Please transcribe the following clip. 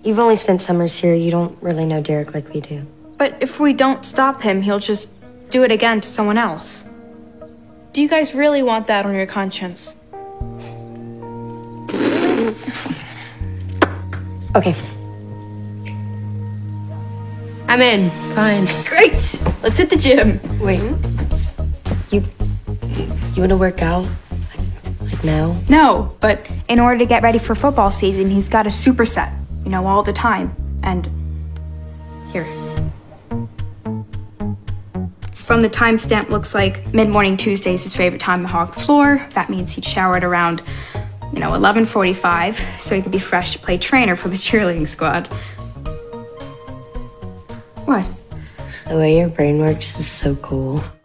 You've only spent summers here. You don't really know Derek like we do. But if we don't stop him, he'll just do it again to someone else. Do you guys really want that on your conscience? Okay. I'm in. Fine. Great! Let's hit the gym. Wait. You want to work out? Like now? No, but in order to get ready for football season, he's got a superset, you know, all the time. And here. From the timestamp, looks like mid-morning Tuesday is his favorite time to hog the floor. That means he'd shower at around, 11:45, so he could be fresh to play trainer for the cheerleading squad. What? The way your brain works is so cool.